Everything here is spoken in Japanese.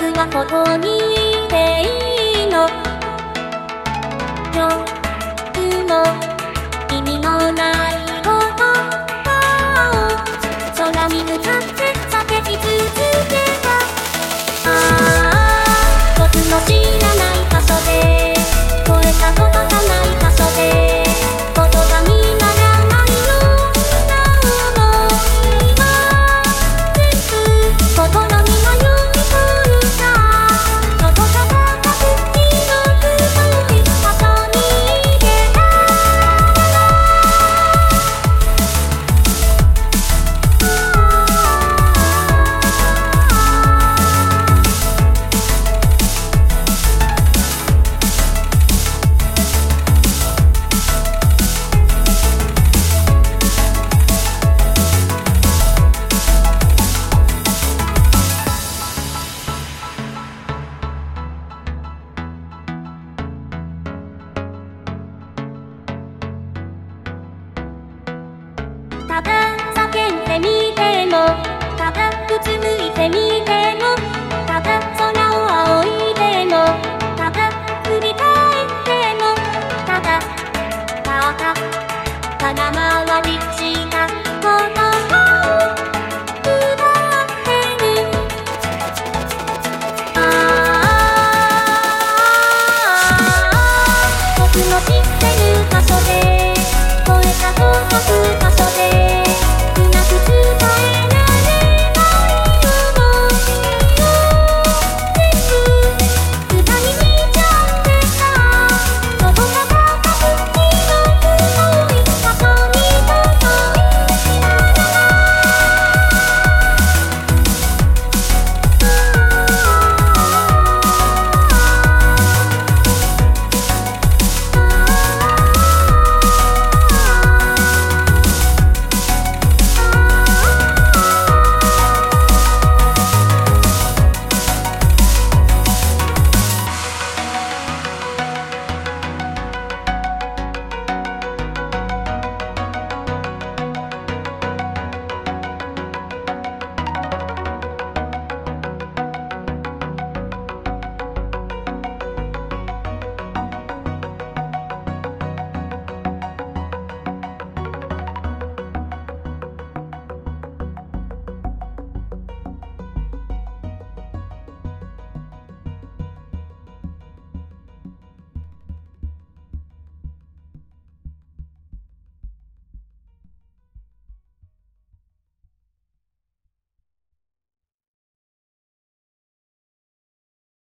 僕はここにいていいの。夜も意味のないことを空に向かって叫び続けた。僕の知らない場所で超えたことがない場所で言葉にならないような想いが全部心に迷い込んだ。どこか高く広く遠い場所に行けたただ叫んでみても、ただうつむいてみても、ただ空を仰いでも、ただ振り返っても、ただ空回りしたことを奪ってる。僕の知ってる場所で超えた遠く場所で